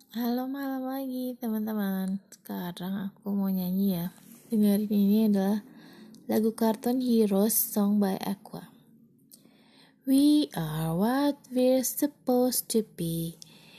Halo, malam lagi teman-teman. Sekarang aku mau nyanyi ya. Dengerin, ini adalah lagu kartun Heroes song by Aqua. We are what we're supposed to be.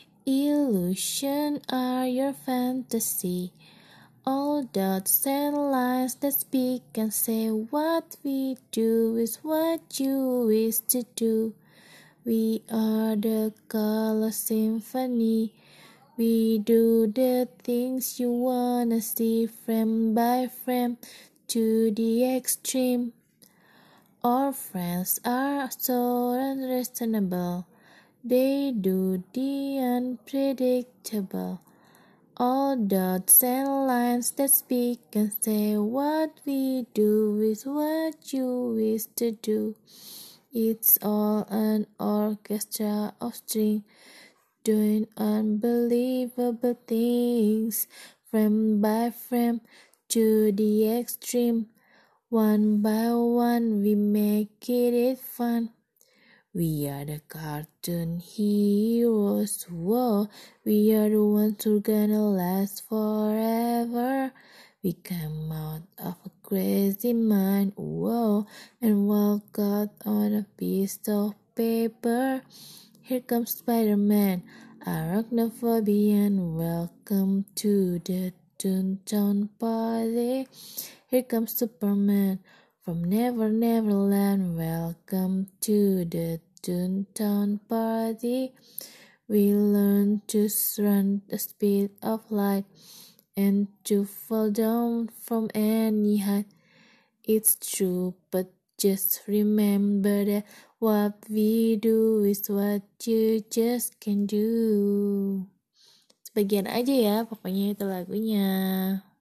Illusion are your fantasy. All dots and lines that speak and say what we do is what you wish to do. We are the color symphony. We do the things you wanna see, frame by frame, to the extreme. Our friends are so unreasonable. They do the unpredictable. All dots and lines that speak and say what we do is what you wish to do. It's all an orchestra of strings doing unbelievable things, frame by frame, to the extreme. One by one, we make it fun. We are the cartoon heroes, whoa. We are the ones who are gonna last forever. We come out of a crazy mind, whoa, and walk out on a piece of paper. Here comes Spider-Man, Arachnophobian. Welcome to the Toontown Party. Here comes Superman from Never Neverland. Welcome to the Toontown Party. We learn to run the speed of light and to fall down from any height. It's true, but just remember that what we do is what you just can do. Sebagian aja ya, pokoknya itu lagunya.